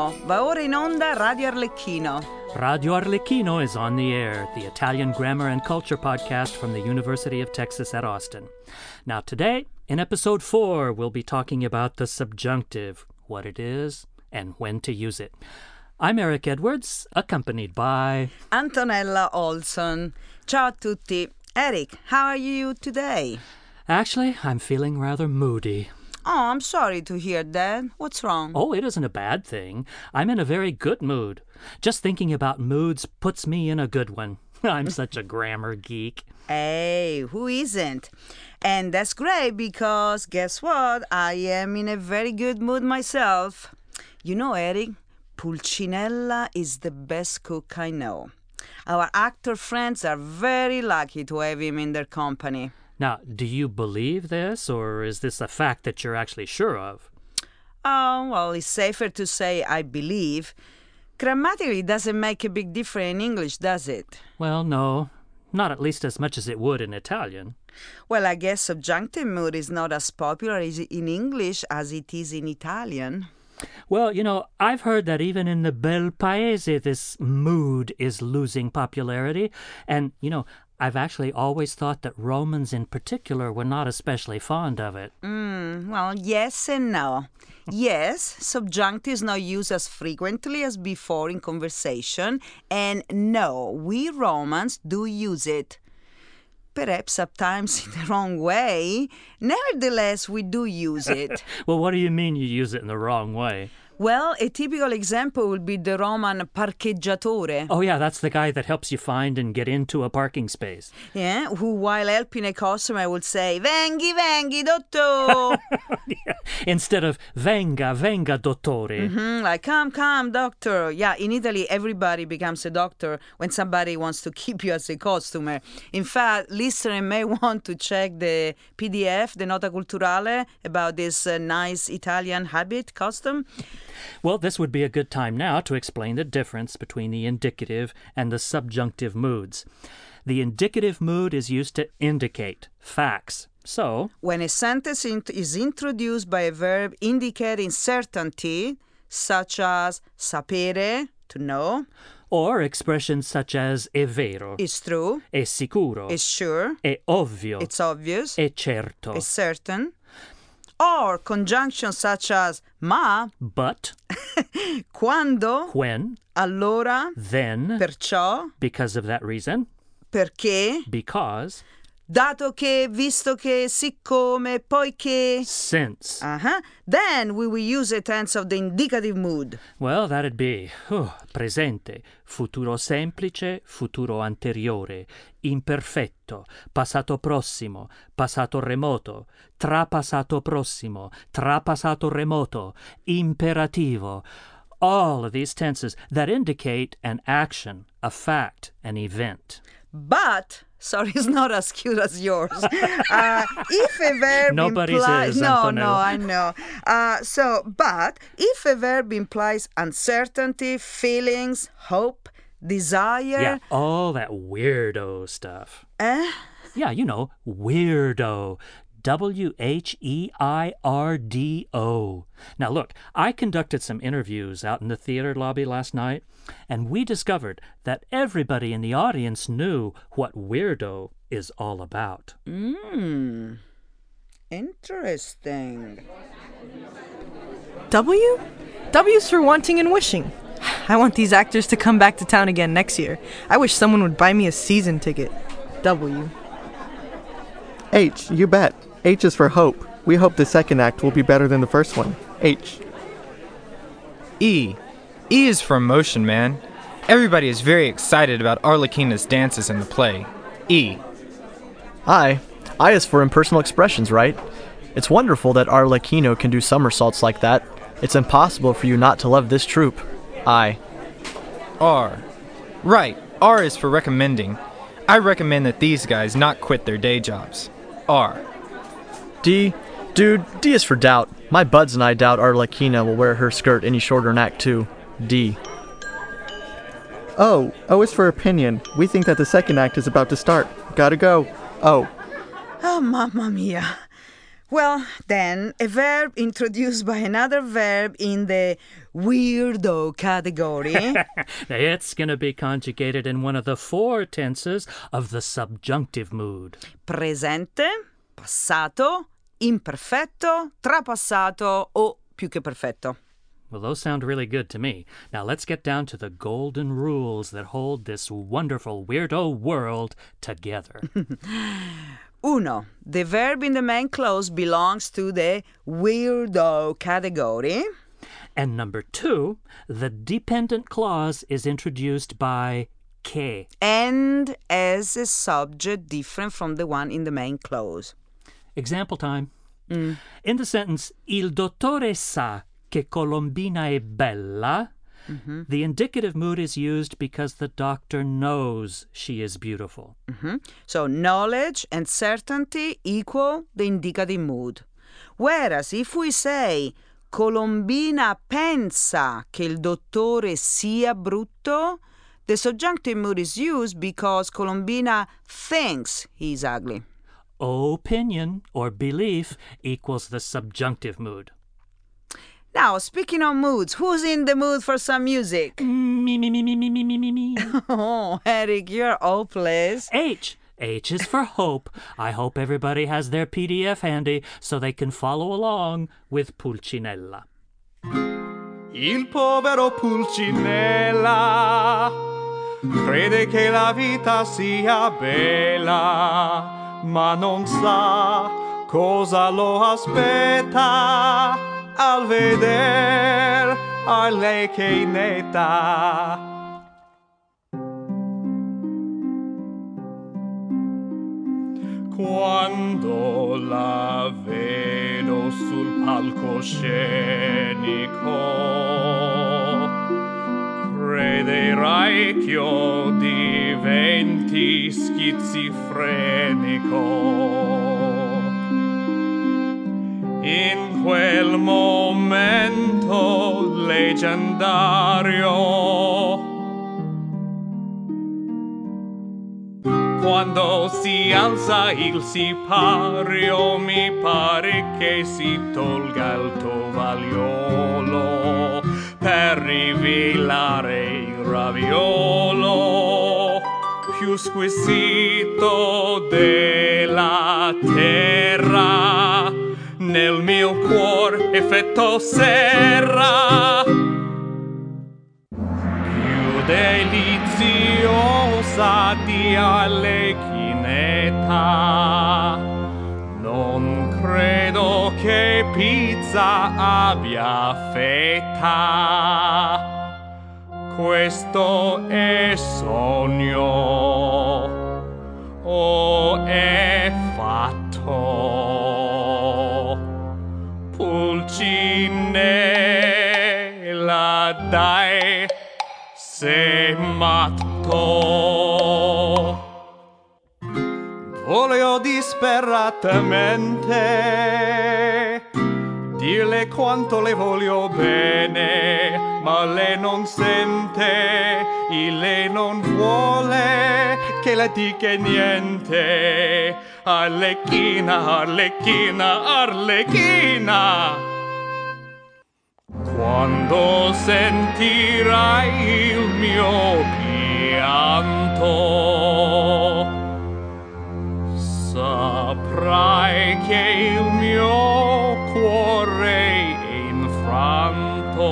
No, va ora in onda Radio Arlecchino. Radio Arlecchino is on the air, the Italian grammar and culture podcast from the University of Texas at Austin. Now today, in episode 4, we'll be talking about the subjunctive, what it is, and when to use it. I'm Eric Edwards, accompanied by... Antonella Olson. Ciao a tutti. Eric, how are you today? Actually, I'm feeling rather moody. Oh, I'm sorry to hear that. What's wrong? Oh, it isn't a bad thing. I'm in a very good mood. Just thinking about moods puts me in a good one. I'm such a grammar geek. Hey, who isn't? And that's great because guess what? I am in a very good mood myself. You know, Eric, Pulcinella is the best cook I know. Our actor friends are very lucky to have him in their company. Now, do you believe this, or is this a fact that you're actually sure of? Oh, well, it's safer to say I believe. Grammatically, it doesn't make a big difference in English, does it? Well, no. Not at least as much as it would in Italian. Well, I guess subjunctive mood is not as popular in English as it is in Italian. Well, you know, I've heard that even in the Bel Paese, this mood is losing popularity. And, you know, I've actually always thought that Romans in particular were not especially fond of it. Well, yes and no. Yes, subjunctive is not used as frequently as before in conversation. And no, we Romans do use it. Perhaps sometimes in the wrong way. Nevertheless, we do use it. Well, what do you mean you use it in the wrong way? Well, a typical example would be the Roman parcheggiatore. Oh, yeah, that's the guy that helps you find and get into a parking space. Yeah, who while helping a customer would say, "Venghi, venghi, dottor." Yeah. Instead of venga, venga, dottore. Like, come, doctor. Yeah, in Italy, everybody becomes a doctor when somebody wants to keep you as a customer. In fact, listeners may want to check the PDF, the Nota Culturale, about this nice Italian habit, custom. Well, this would be a good time now to explain the difference between the indicative and the subjunctive moods. The indicative mood is used to indicate facts. So, when a sentence is introduced by a verb indicating certainty, such as sapere, to know, or expressions such as è vero, is true, è sicuro, is sure, è ovvio, it's obvious, è certo, is certain, or conjunctions such as ma, but, quando, when, allora, then, perciò, because of that reason, perché, because, dato che, visto che, siccome, poiché. since. Then we will use a tense of the indicative mood. Well, that'd be presente, futuro semplice, futuro anteriore, imperfetto, passato prossimo, passato remoto, trapassato prossimo, trapassato remoto, imperativo. All of these tenses that indicate an action, a fact, an event. But, sorry, it's not as cute as yours. If a verb Nobody's implies... is, No, Antonella. I know. But if a verb implies uncertainty, feelings, hope, desire... Yeah, all that weirdo stuff. Yeah, you know, weirdo. W-H-E-I-R-D-O. Now look, I conducted some interviews out in the theater lobby last night, and we discovered that everybody in the audience knew what weirdo is all about. Interesting. W? W's for wanting and wishing. I want these actors to come back to town again next year. I wish someone would buy me a season ticket. W. H, you bet. H is for hope. We hope the second act will be better than the first one. H. E. E is for emotion, man. Everybody is very excited about Arlecchina's dances in the play. E. I. I is for impersonal expressions, right? It's wonderful that Arlecchino can do somersaults like that. It's impossible for you not to love this troupe. I. R. Right, R is for recommending. I recommend that these guys not quit their day jobs. R. D. Dude, D is for doubt. My buds and I doubt Arlecchina will wear her skirt any shorter in Act 2. D. O. O is for opinion. We think that the second act is about to start. Gotta go. O. Oh, mamma mia. Well, then, a verb introduced by another verb in the weirdo category. It's going to be conjugated in one of the 4 tenses of the subjunctive mood. Presente, passato, imperfetto, trapassato o più che perfetto. Well, those sound really good to me. Now let's get down to the golden rules that hold this wonderful weirdo world together. 1. The verb in the main clause belongs to the weirdo category. And number 2, the dependent clause is introduced by che. And as a subject different from the one in the main clause. Example time. In the sentence, il dottore sa che Colombina è bella, the indicative mood is used because the doctor knows she is beautiful. So knowledge and certainty equal the indicative mood. Whereas if we say Colombina pensa che il dottore sia brutto, the subjunctive mood is used because Colombina thinks he's ugly. Opinion or belief equals the subjunctive mood. Now, speaking of moods, who's in the mood for some music? Me. Oh, Eric, you're all pleased. H. H is for hope. I hope everybody has their PDF handy so they can follow along with Pulcinella. Il povero Pulcinella crede che la vita sia bella, ma non sa cosa lo aspetta al veder Arlechinetta. Quando la vedo sul palcoscenico, crederai che io diventi schizofrenico. In quel momento leggendario, quando si alza il sipario, mi pare che si tolga il tovagliolo per rivelare il raviolo più squisito della terra. Nel mio cuor effetto serra, più deliziosa di Arlechinetta. Non credo che pizza abbia fetta. Questo è sogno o è fatto? Pulcinella, dai, sei matto. Volevo disperatamente dirle quanto le voglio bene, ma lei non sente e lei non vuole che le dica niente. Arlecchina, Arlecchina, Arlecchina, quando sentirai il mio pianto, saprai che il mio cuore è infranto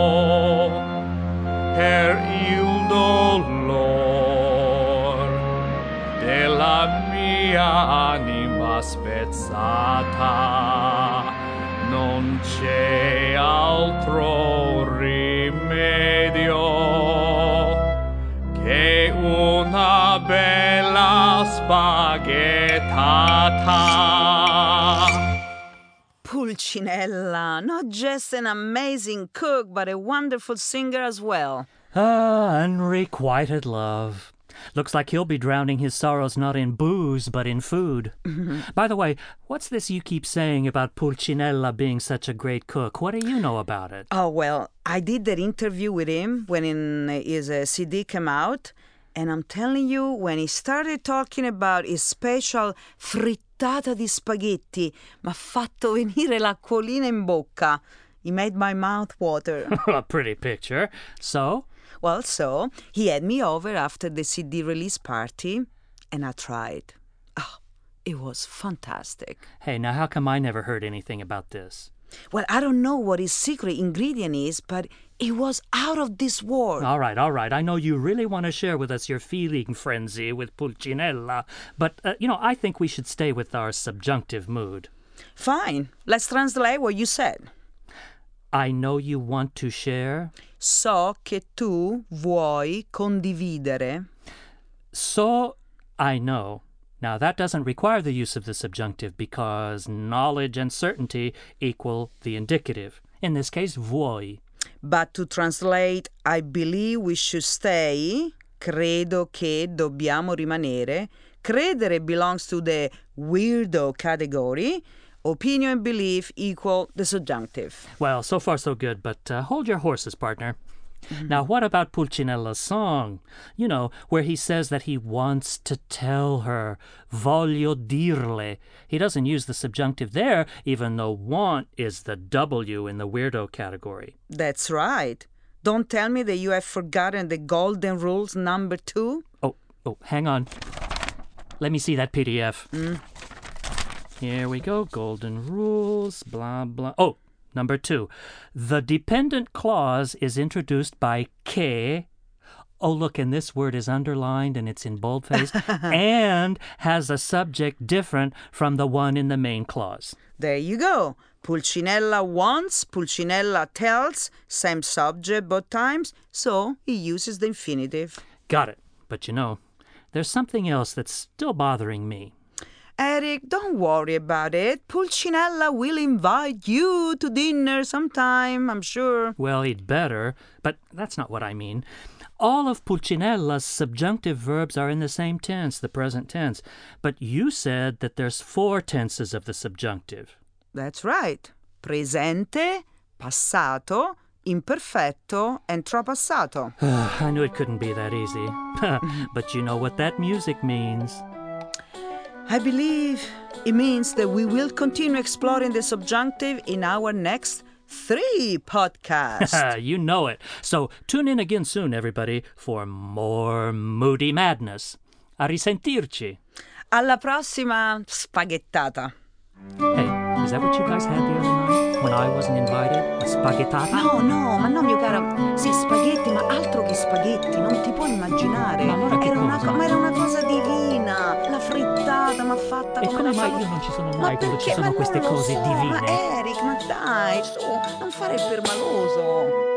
per il dolor della mia anima spezzata. Non c'è altro rimedio che una bella spaghettata. Pulcinella, not just an amazing cook, but a wonderful singer as well. Ah, unrequited love. Looks like he'll be drowning his sorrows not in booze, but in food. By the way, what's this you keep saying about Pulcinella being such a great cook? What do you know about it? Oh, well, I did that interview with him when his CD came out, And I'm telling you, when he started talking about his special frittata di spaghetti, m'ha fatto venire l'acquolina in bocca. He made my mouth water. A pretty picture. So? Well, so he had me over after the CD release party, and I tried. Oh, it was fantastic. Hey, now how come I never heard anything about this? Well, I don't know what his secret ingredient is, but it was out of this world. All right. I know you really want to share with us your feeling frenzy with Pulcinella, but, I think we should stay with our subjunctive mood. Fine. Let's translate what you said. I know you want to share. So che tu vuoi condividere. So, I know. Now, that doesn't require the use of the subjunctive because knowledge and certainty equal the indicative. In this case, vuoi. But to translate, I believe we should stay, credo che dobbiamo rimanere, credere belongs to the weirdo category, opinion and belief equal the subjunctive. Well, so far so good, but hold your horses, partner. Now, what about Pulcinella's song? You know, where he says that he wants to tell her, voglio dirle. He doesn't use the subjunctive there, even though want is the W in the weirdo category. That's right. Don't tell me that you have forgotten the golden rules number 2. Oh, hang on. Let me see that PDF. Here we go. Golden rules, blah, blah. Oh, number 2. The dependent clause is introduced by che. Oh, look, and this word is underlined and it's in boldface and has a subject different from the one in the main clause. There you go. Pulcinella wants, Pulcinella tells, same subject both times, so he uses the infinitive. Got it. But there's something else that's still bothering me. Eric, don't worry about it. Pulcinella will invite you to dinner sometime, I'm sure. Well, he'd better, but that's not what I mean. All of Pulcinella's subjunctive verbs are in the same tense, the present tense. But you said that there's 4 tenses of the subjunctive. That's right. Presente, passato, imperfetto, and trapassato. I knew it couldn't be that easy. But you know what that music means. I believe it means that we will continue exploring the subjunctive in our next 3 podcasts. You know it. So tune in again soon, everybody, for more Moody Madness. A risentirci. Alla prossima spaghettata. Hey, is that what you guys had the other night when I wasn't invited? A spaghettata? No, ma no, mio caro. Sì, spaghetti, ma altro che spaghetti, non ti puoi immaginare. Ma allora che cosa? Ma era una cosa divina. La frittata, ma fatta E come come la mai fanno. io non ci sono Ma mai quando ci perché? sono Ma queste non lo cose so, divine? Ma Eric, ma dai, su, non fare il permaloso.